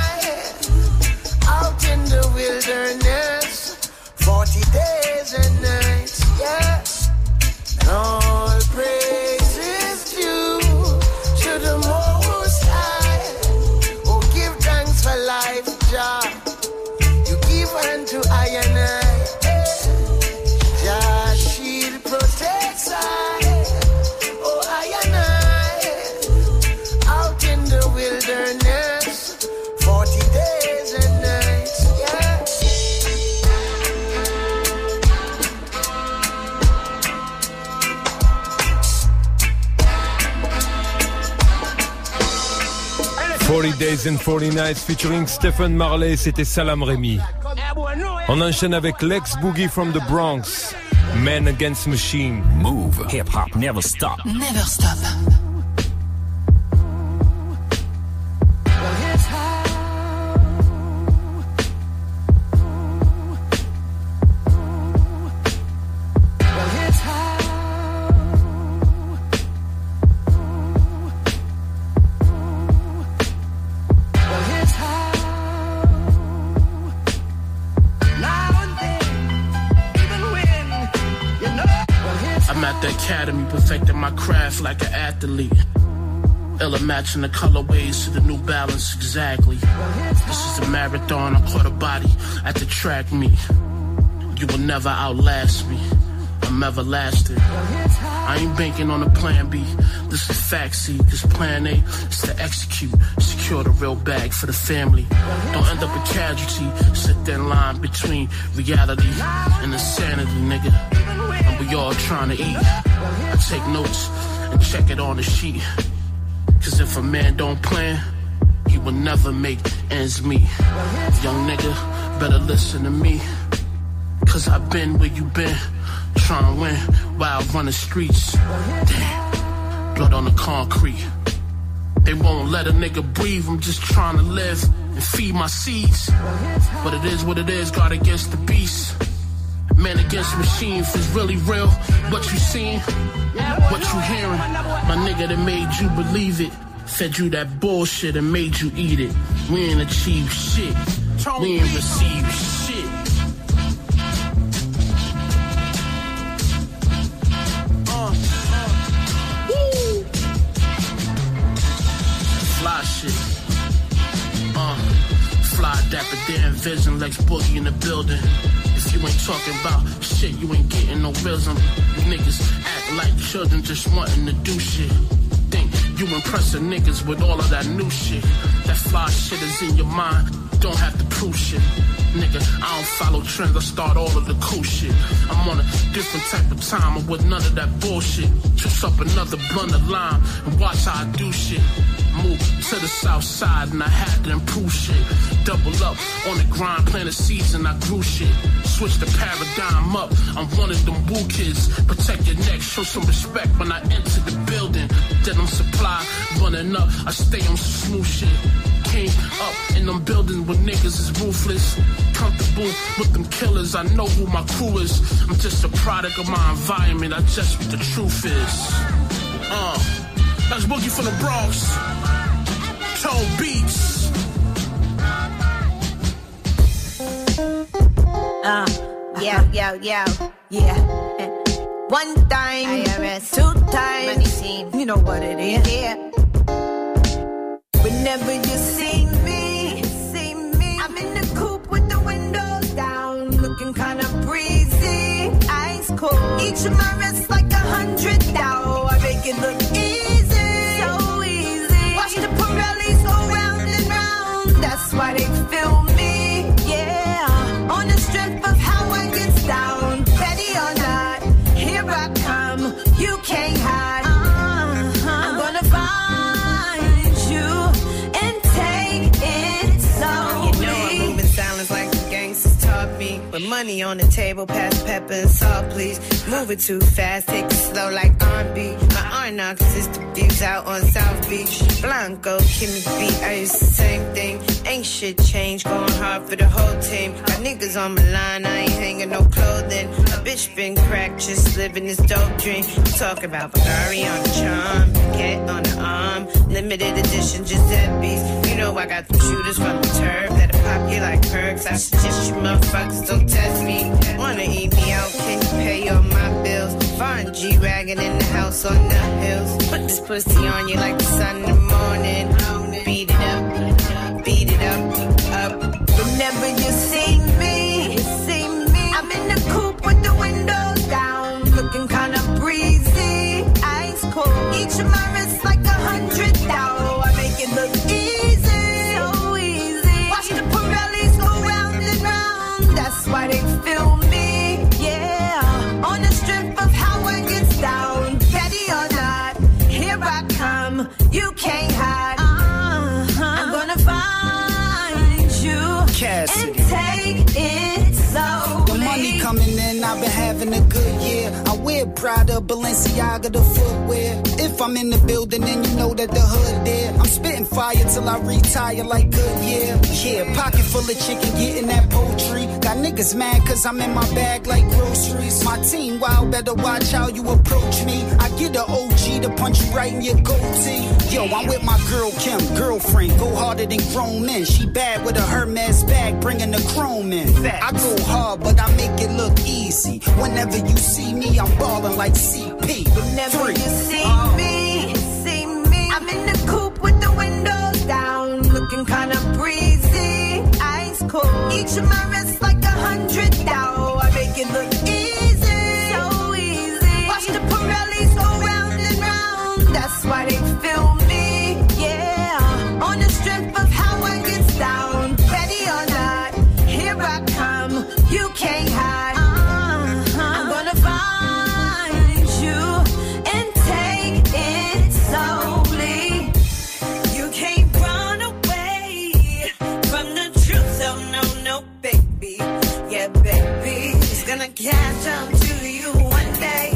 I, out in the wilderness, 40 days and nights, yeah. And all praise is due to the Most High. Oh, give thanks for life, Jah. You give unto I and I, yeah. Jah shield protects I. Oh, I and I, out in the wilderness, 40 days and nights, yeah. «40 Days and 40 Nights» featuring Stephen Marley, c'était Salam Remy. On enchaîne avec Lex Boogie from the Bronx, Men Against Machine. Move. Hip hop never stop. Never stop. Perfecting my craft like an athlete. Ella matching the colorways to the New Balance, exactly. This is a marathon, I caught a body at the track meet. You will never outlast me, I'm everlasting. I ain't banking on a plan B, this is fact C. Cause plan A is to execute, secure the real bag for the family. Don't end up a casualty, sit that line between reality and insanity, nigga. And we all trying to eat. I take notes and check it on the sheet. Cause if a man don't plan, he will never make ends meet. Young nigga, better listen to me. Cause I've been where you been, trying to win while I run the streets. Damn, blood on the concrete. They won't let a nigga breathe, I'm just trying to live and feed my seeds. But it is what it is, God against the beast. Man against machine, if it's really real, what you seeing, what you hearing. My nigga that made you believe it, fed you that bullshit and made you eat it. We ain't achieved shit, we ain't received shit. Woo. Fly shit, fly dapper damn vision, Lex Boogie in the building. If you ain't talking about shit, you ain't getting no rhythm. You niggas act like children just wanting to do shit. Think you impressing niggas with all of that new shit. That fly shit is in your mind, don't have to prove shit. Nigga, I don't follow trends, I start all of the cool shit. I'm on a different type of time, I'm with none of that bullshit. Juice up another blunt of lime and watch how I do shit. Move to the south side and I had to improve shit. Double up on the grind, plant a seeds and I grew shit. Switch the paradigm up, I'm one of them woo kids. Protect your neck, show some respect when I enter the building. Then I'm supply, running up, I stay on some smooth shit. Came up in them buildings where niggas is ruthless. Comfortable with them killers, I know who my crew is. I'm just a product of my environment, I just what the truth is. That's Boogie from the Bronx. Tone Beats. Yeah. One time, IRS, 2 times, money scene. You know what it is. Yeah. Whenever you see me, I'm in the coupe with the windows down, looking kinda breezy, ice cold. Each of my wrists like 100 thou. I make it look easy, so easy. Watch the Pirellis go round and round. That's why they feel me, yeah. On the strength of how I get down, ready or not, here I come. You can't hide. I'm gonna find you and take it. money on the table, pass pepper and salt, please. Move it too fast, take it slow like R&B. My R-narcissistic views out on South Beach. Blanco, Kimmy B, it's the same thing. Ain't shit changed, going hard for the whole team. Got niggas on my line, I ain't hanging no clothing. A bitch been cracked, just living this dope dream. Talk about Bulgari on the charm, cat on the arm. Limited edition Giuseppe's. You know I got the shooters from the turf that'll pop you like perks. I suggest you motherfuckers don't test me. Wanna eat me out, can you pay all my bills? Foreign G-Wagon in the house on the hills. Put this pussy on you like the sun in the morning. Beat it up, beat it up, up. Whenever you see me, I'm in the coupe with the windows down, looking kinda breezy, ice cold. Each of my wrists like 100 thou. I make it look easy, so easy. Watch the Pirellis go round and round. That's why they feel me, yeah. On the strip of how I get down, petty or not, here I come. You can't hide. I'm gonna find you Cassidy. and take it slowly. The money coming in, I've been having a good year. I wear Prada, Balenciaga, the footwear. If I'm in the building, then you know that the hood there. I'm spitting fire till I retire like Goodyear. Yeah, pocket full of chicken, getting that poultry. Got niggas mad cause I'm in my bag like groceries. My team wild, better watch how you approach me. I get a OG to punch you right in your goatee. Yo, I'm with my girl Kim, girlfriend, go harder than grown men. She bad with a Hermes bag, bringing the chrome in. I go hard, but I make it look easy. Whenever you see me, I'm ballin' like CP. Whenever you see me, I'm in the coupe with the windows down, looking kinda breezy, ice cold. Each of my wrists like 100 thou. I make it look easy, so easy. Watch the Pirellis go round and round. That's why they feel me, yeah. On the strip of how I get down, ready or not, here I come. You can't hide. I'm gonna find you and take it slowly. You can't run away from the truth. Oh no, no, baby. Yeah, baby, it's gonna catch up to you one day.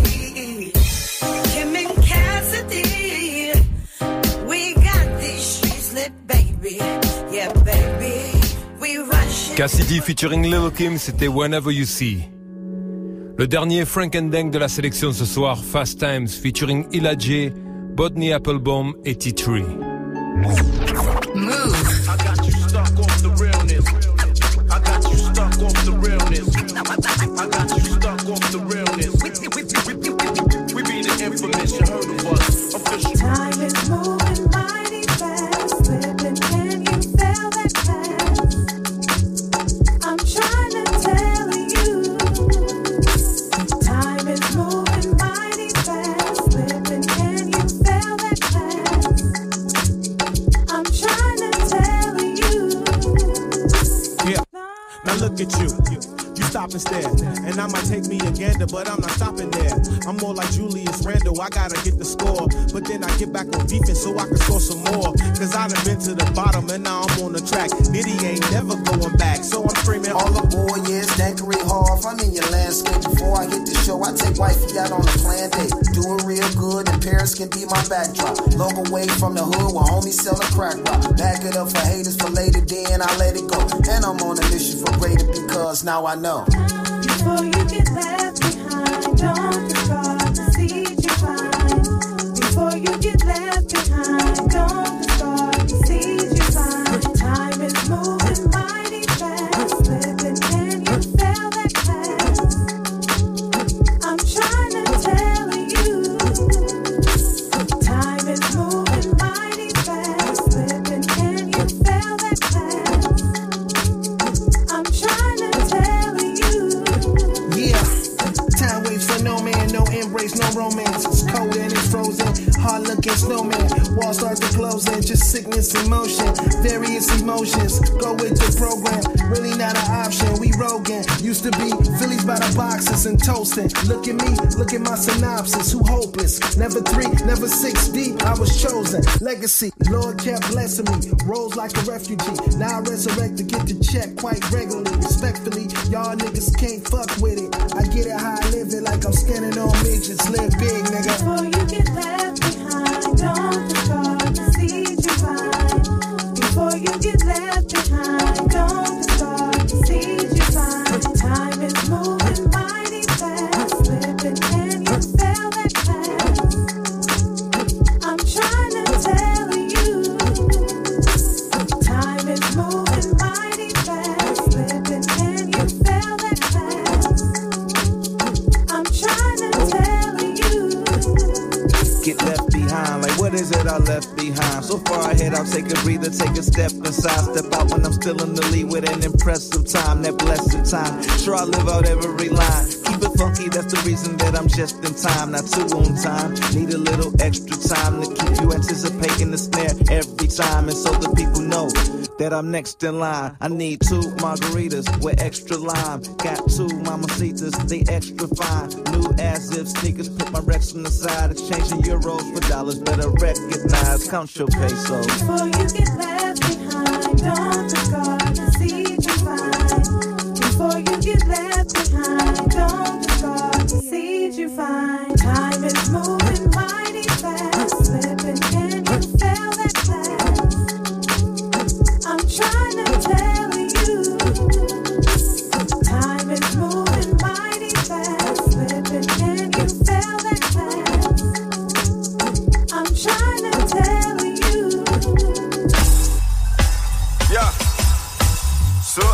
Kim and Cassidy, we got these streets lit, baby. Yeah, baby, we rush. Cassidy featuring Lil' Kim, c'était Whenever You See. Le dernier Frank and Dang de la sélection ce soir, Fast Times featuring Illa J, Bodney Applebaum et T3. Move. I got you stuck off the realness. I got you stuck off the realness. I got you stuck off the realness. We be the infamous, you heard of us. Official. Time is moving mighty fast, slipping, can you feel that fast? I'm trying to tell you. Time is moving mighty fast, slipping, can you feel that fast? I'm trying to tell you. Yeah, now look at you. You stop and stare, and I might take me a gander, but I'm not stopping there. I'm more like Julius Randle, I gotta get the score, but then I get back on defense so I can score some more. Cause I done been to the bottom and now I'm on the track. Nitty ain't never going back, so I'm screaming all aboard, yeah, it's Dankery Hall. I'm in your landscape. Before I hit the show, I take wifey out on a planned date. Do it real good, and Paris can be my backdrop. Long away from the hood where homies sell a crack rock. Back it up for haters for later, then I let it go. And I'm on a mission for greater because now I know. Before you get left behind, don't discard the seeds you find. Before you get left behind, don't discard the seeds you find. Time is moving mighty fast, slipping, can you feel that fast? I'm trying to tell you. Time is moving mighty fast, slipping, can you feel that fast? I'm trying to tell you. Yeah, time waits for no man, no embrace, no romance. It's cold and it's frozen. Hard look weekend snowman. Walls start to close in, just sickness in motion. Various emotions, go with the program. Really not an option, we Rogan. Used to be Phillies by the boxes and toasting. Look at me, look at my synopsis. Who hopeless? Never 3, never 6 deep. I was chosen. Legacy, Lord kept blessing me. Rose like a refugee. Now I resurrect to get the check quite regularly. Respectfully, y'all niggas can't fuck with it. I get it how I live it, like I'm scanning on midgets. Live big, nigga. Before you get left behind, don't discard the seeds you find. Before you get left behind, don't discard the seeds you find. Time is moving mighty fast, slipping and you fail that fast. I'm trying to tell you, time is moving mighty fast, slipping and you fail that fast. I'm trying to tell you. Get left behind, like what is it I left behind? So far ahead, I'll take a breather, take a step inside, step out when I'm still in the lead with an impressive time, that blessed time. Sure, I live out every line. Keep it funky, that's the reason that I'm just in time, not too on time. Need a little extra time to keep you anticipating the snare every time, and so the people know that I'm next in line. I need 2 margaritas with extra lime. Got 2 mamacitas, they extra fine. New as if sneakers, put my Rex on the side. Exchanging euros for dollars, better recognize. Count your pesos. Before you get left behind, don't discard the seeds you find. Before you get left behind, don't discard the seeds you find. Time is moving mighty fast, slipping and you fail that fast. I'm trying to tell you, time is moving mighty fast, slipping and you fail that fast. I'm trying to tell you. Yeah. So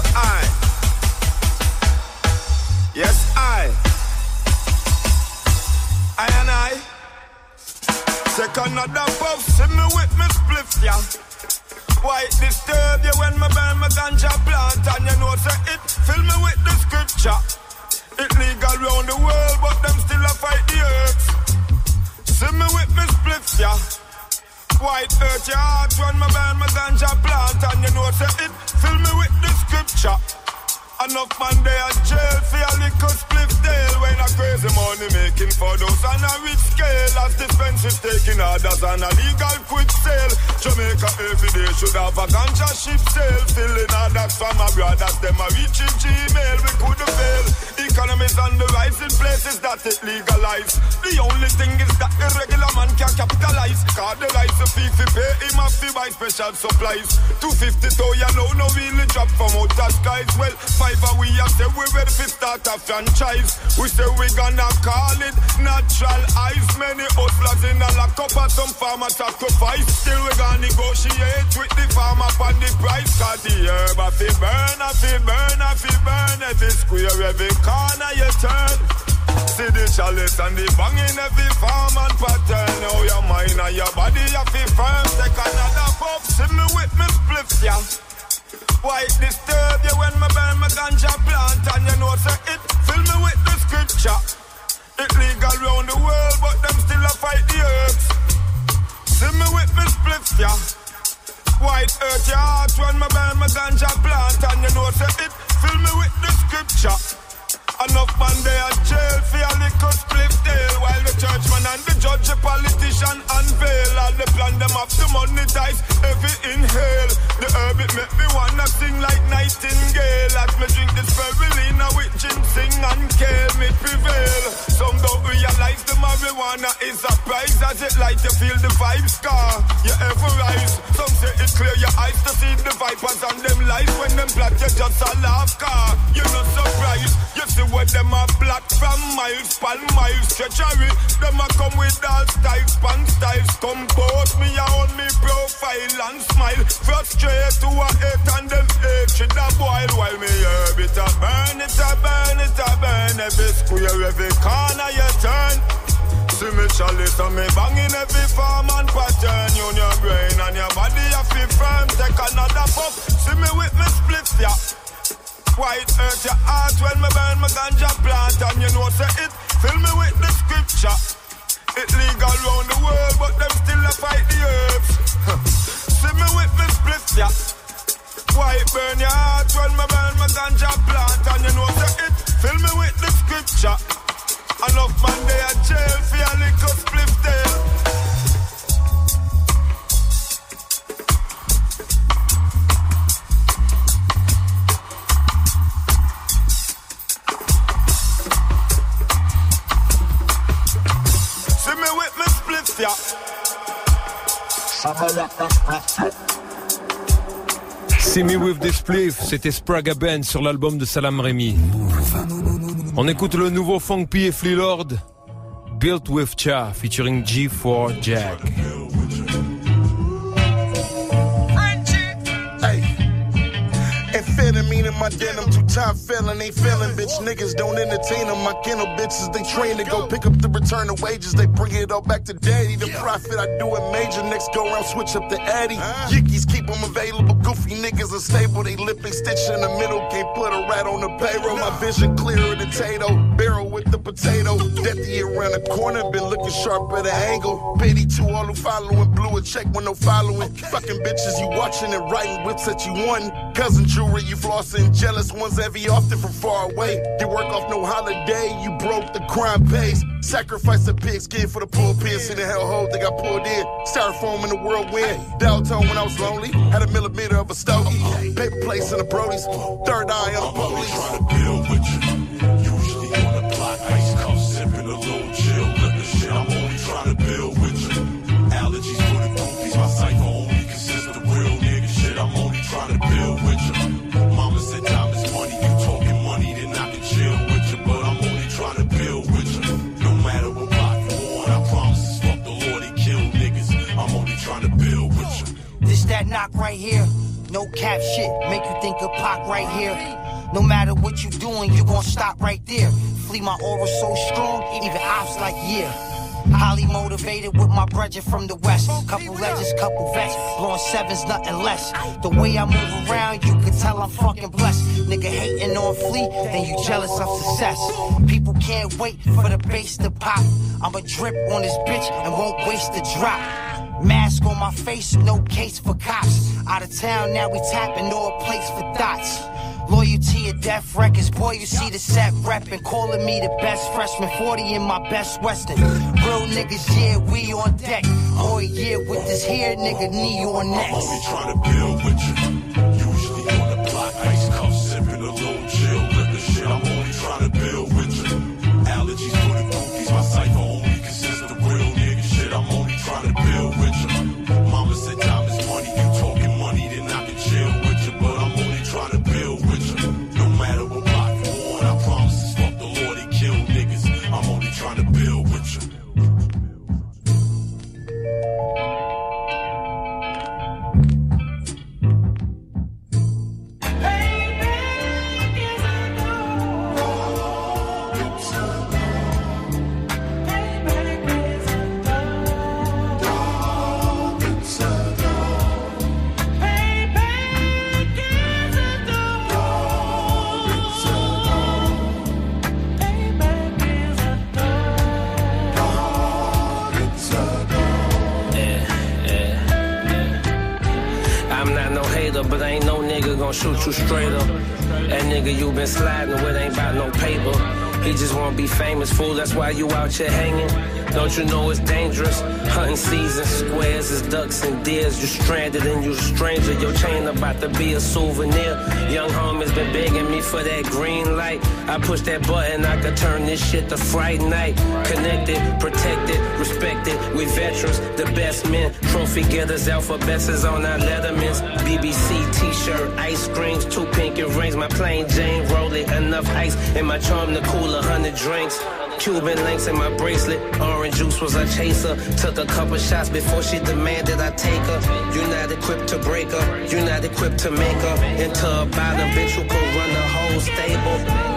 yes I and I take another puff, see me with me spliff, yeah. Why it disturb you when me burn my ganja plant? And you know say it fill me with the scripture. It legal round the world, but them still a fight the earth. See me with me spliff, yeah. Why it hurt your heart when me burn my ganja plant? And you know say it fill me with the scripture. Enough man they a jail for a little spliff tail. When a crazy money making for those on a rich scale. As dispensaries taking orders on a legal quick sale. Jamaica every day should have a ganja ship sale. Filling orders from our brothers, them a reaching Gmail. We couldn't fail. Economies on the rise in places that it legalized. The only thing is that the regular man can capitalize. Cause the rise of fee fi pay him have to buy special supplies. 250 to you know no really drop from outer skies. Well, we have said we ready to start a franchise. We say we gonna call it natural ice. Many hustlers in a lock up and some farmer sacrifice. Still we gonna negotiate with the farmer for the price. Cause the herb I feel burn, I feel burn, I feel burn. Every square, every corner you turn. See the chalice and the bang in every farm and pattern. Now your mind and your body you feel firm. Take another puff, see me with me spliff, yeah. Why it disturb you when me burn my ganja plant? And you know say it fill me with the scripture. It legal round the world, but them still a fight the earth. See me with me spliff, yeah. Why it hurt your heart when me burn my ganja plant? And you know say it fill me with the scripture. Enough man they a jail for a little spliff tail. While the churchman and the judge, the politician unveil. All the plan them have to monetize every inhale. The herb it make me wanna sing like Nightingale. As me drink this spirulina with ginseng and kale, me prevail. Some don't realize the marijuana is a prize. As it light you feel the vibe scar, you ever rise. Some say it clear your eyes to see the vipers and them lies. When them plot you just a laugh car. You're not surprised, you see where them a plot from miles, pan miles, treachery. Them a come with all styles, pan styles. Compose me on me profile and smile. Frustrate to a hate and them hatred a boil. While me herb it a burn, it a burn, it a burn. Every square, every corner you turn. See me chalice and me banging every form and pattern. You your brain and your body you feel firm. Take another puff, see me with me split, yeah. Why it hurt your heart when me burn my ganja plant? And you know say it fill me with the scripture. It legal round the world, but them still ya. Why it burn your heart when my burn my ganja plant? And you know say it, fill me with the scripture. Enough man they are jail for your little spliff tail. See me with me spliff ya. See Me With This Spliff, c'était Sprague Band sur l'album de Salam Remy. On écoute le nouveau Funk P et Flea Lord, Built With Cha, featuring G4 Jack. Amphetamine in my denim, two-time felon, ain't feeling, bitch. Niggas don't entertain them. My kennel bitches, they train to go pick up the return of wages. They bring it all back to daddy. The profit, I do it major. Next go around, switch up the addy. Yickies keep them available. Goofy niggas unstable. They lipping stitch in the middle. Can't put a rat on the payroll. My vision clearer than Tato. Barrel with the potato. Deathy around the corner. Been looking sharp at an angle. Pity to all who following. Blew a check with no following. Fucking bitches, you watching and writing whips that you won. Cousin jewelry, you flossing. Jealous ones heavy often from far away. You work off no holiday. You broke, the crime pays. Sacrifice a pigskin for the pulpit. See the hellhole they got pulled in. Styrofoam in the whirlwind. Downtown when I was lonely. Had a millimeter of a stogie. Paper plates in the Brodies. Third eye on the police. Trying to build with you. Usually on the block. Ice cuffs, sipping a little chill. Liquor shit. I'm only trying to build with you. Allergies for the goofies. My cipher only consists of real nigga shit. I'm only trying to build with you. Mama said time is money. You talking money, then I can chill with you. But I'm only trying to build with you. No matter what block you on, I promise. Fuck the Lord, he kill niggas. I'm only trying to build with you. This that knock right here. No cap shit, make you think of Pac right here. No matter what you doing, you gon' stop right there. Flee my aura so strong, even ops like yeah. Highly motivated with my brethren from the west. Couple legends, couple vets, blowing sevens, nothing less. The way I move around, you can tell I'm fucking blessed. Nigga hating on Flea, then you jealous of success. People can't wait for the bass to pop. I'ma drip on this bitch and won't waste the drop. Mask on my face, no case for cops. Out of town, now we tapping all plates for dots. Loyalty of Death Records, boy, you see the set reppin'. Calling me the best freshman, 40 in my best western. Real niggas, yeah, we on deck. Oh yeah, with this here nigga, knee on neck. I'm only trying to build with you. Usually on the block, ice cuffs, sipping a little chill. Liquor shit, I'm only trying to build with you. Allergies for the goofies, my cipher only consists of real nigga shit. I'm only trying to build with you. Mama said time is money, you talking money, then I can chill with you. But I'm only trying to build with you. No matter what block you on, I promise. Fuck the Lord, he kill niggas. I'm only trying to build with you. But ain't no nigga gon' shoot you straight up. That nigga you been sliding with ain't bout no paper. He just wanna be famous, fool, that's why you out here hanging. Don't you know it's dangerous? Hunting season, squares is ducks and deers. You stranded and you a stranger, your chain about to be a souvenir. Young homies been begging me for that green light. I push that button, I could turn this shit to Fright Night. Connected, protected, respected, we veterans, the best men. Trophy getters, alphabets is on our lettermans. BBC t-shirt, ice creams, 2 pinky rings. My plain Jane, roll it, enough ice in my charm to cool 100 drinks. Cuban links in my bracelet, orange juice was a chaser. Took a couple shots before she demanded I take her. You're not equipped to break her, you're not equipped to make her into a bottom bitch who could run the whole stable.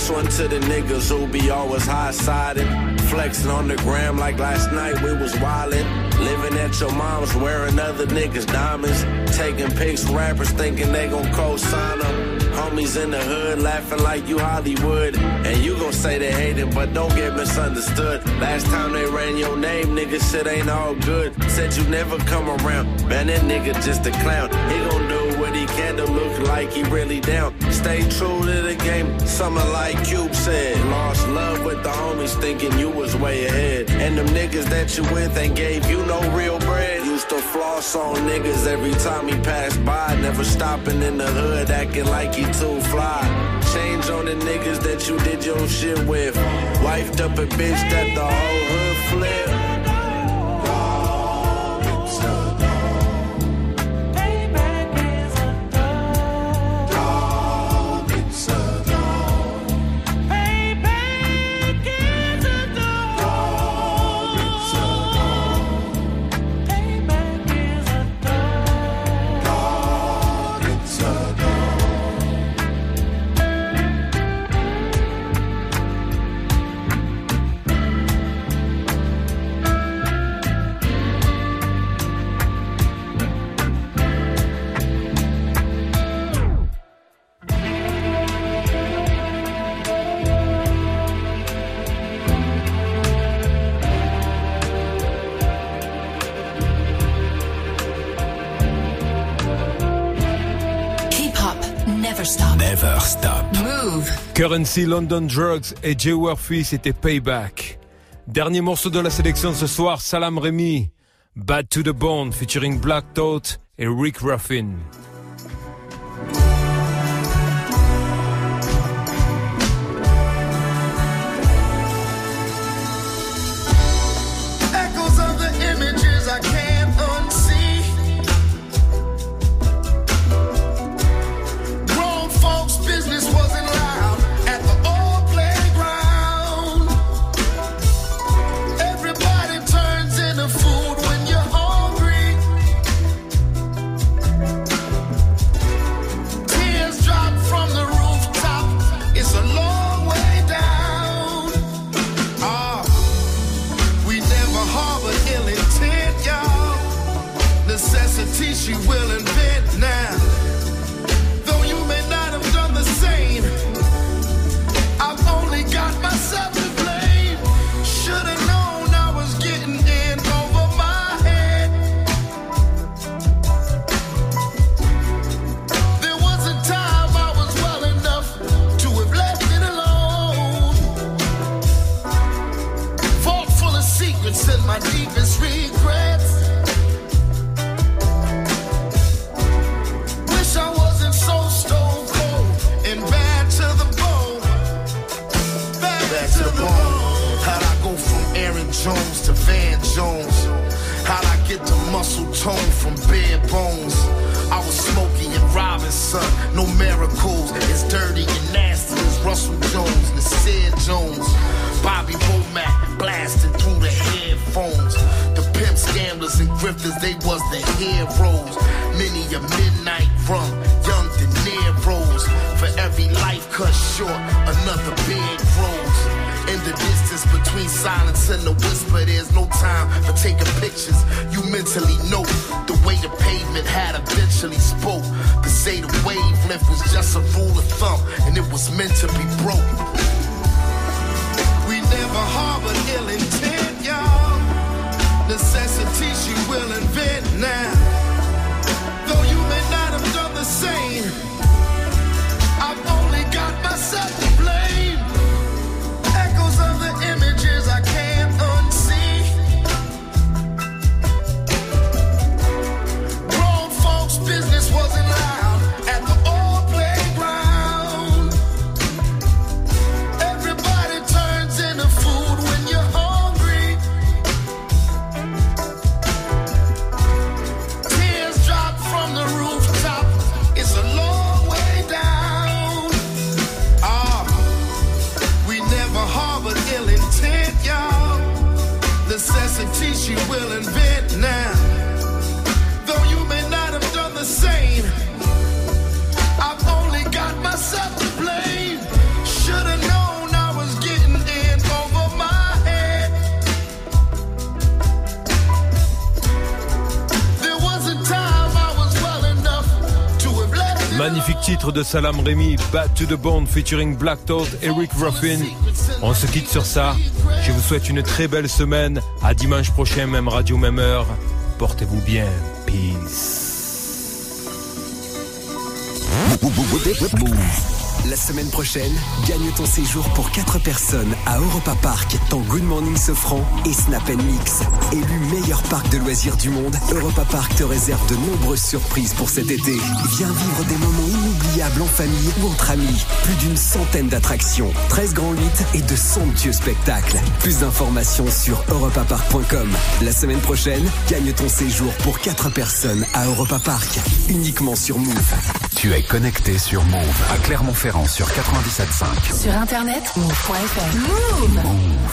This one to the niggas who be always high-sided, flexing on the gram like last night we was wildin'. Living at your mom's, wearing other niggas' diamonds, taking pics, rappers thinking they gon' co-sign them. Homies in the hood laughing like you Hollywood, and you gon' say they hatin', but don't get misunderstood. Last time they ran your name, nigga, shit ain't all good. Said you never come around, man, that nigga just a clown. He gon' do what he can to look like he really down. Stay true to the game, something like Cube said. Lost love with the homies thinking you was way ahead, and them niggas that you with ain't gave you no real bread. Used to floss on niggas every time he passed by, never stopping in the hood acting like he too fly. Change on the niggas that you did your shit with. Wifed up a bitch that the whole hood flip. Never stop. Move. Currency, London Drugs et Jay Murphy, c'était Payback. Dernier morceau de la sélection ce soir, Salam Remy, Bad to the Bone, featuring Black Thought et Rick Ruffin. Echoes of the images I can't unsee. Grown folks' business wasn't loud at the old playground. Everybody turns into food when you're hungry. Tears drop from the rooftop. It's a long way down. We never harbor ill intent, y'all. Necessity she will invent now. Though you may not have done the same, I've only got myself to blame. Should've known I was getting in over my head. There was a time I was well enough to have left it alone. Vault full of secrets and my deepest regrets. Wish I wasn't so stone cold and bad to the bone. Bad to the bone. How'd I go from Aaron Jones to Van Jones? How'd I get the muscle tone from bare bones? I was Smokey and Robinson, no miracles. As dirty and nasty as Russell Jones, Nasir Jones. Bobby Womack blasting through the headphones. The pimps, gamblers, and grifters, they was the heroes. Many a midnight run, young De Niro's. For every life cut short, another big rose. In the distance between silence and the whisper, there's no time for taking pictures. You mentally know the way the pavement had eventually spoke. To say the wavelength was just a rule of thumb, and it was meant to be broke. We never harbored ill intent, y'all. Necessity she will invent now. Though you may not have done the same, I've only got myself to blame. Echoes of the images I can't unsee. Grown folks' business wasn't loud at the old playground. Everybody turns into food when you're hungry. Magnifique titre de Salam Remy, Bad to the Bone featuring Black Thought et Rick Ruffin. On se quitte sur ça. Je vous souhaite une très belle semaine. À dimanche prochain, même radio, même heure. Portez-vous bien. Peace. La semaine prochaine, gagne ton séjour pour 4 personnes à Europa Park dans Good Morning Sofran et Snap & Mix. Élu meilleur parc de loisirs du monde, Europa Park te réserve de nombreuses surprises pour cet été. Viens vivre des moments inoubliables en famille ou entre amis. Plus d'une centaine d'attractions, 13 grands hits et de somptueux spectacles. Plus d'informations sur europapark.com. La semaine prochaine, gagne ton séjour pour 4 personnes à Europa Park, uniquement sur Move. Tu es connecté sur Move à Clermont-Ferrand sur 97.5. Sur internet, move.fr. Move.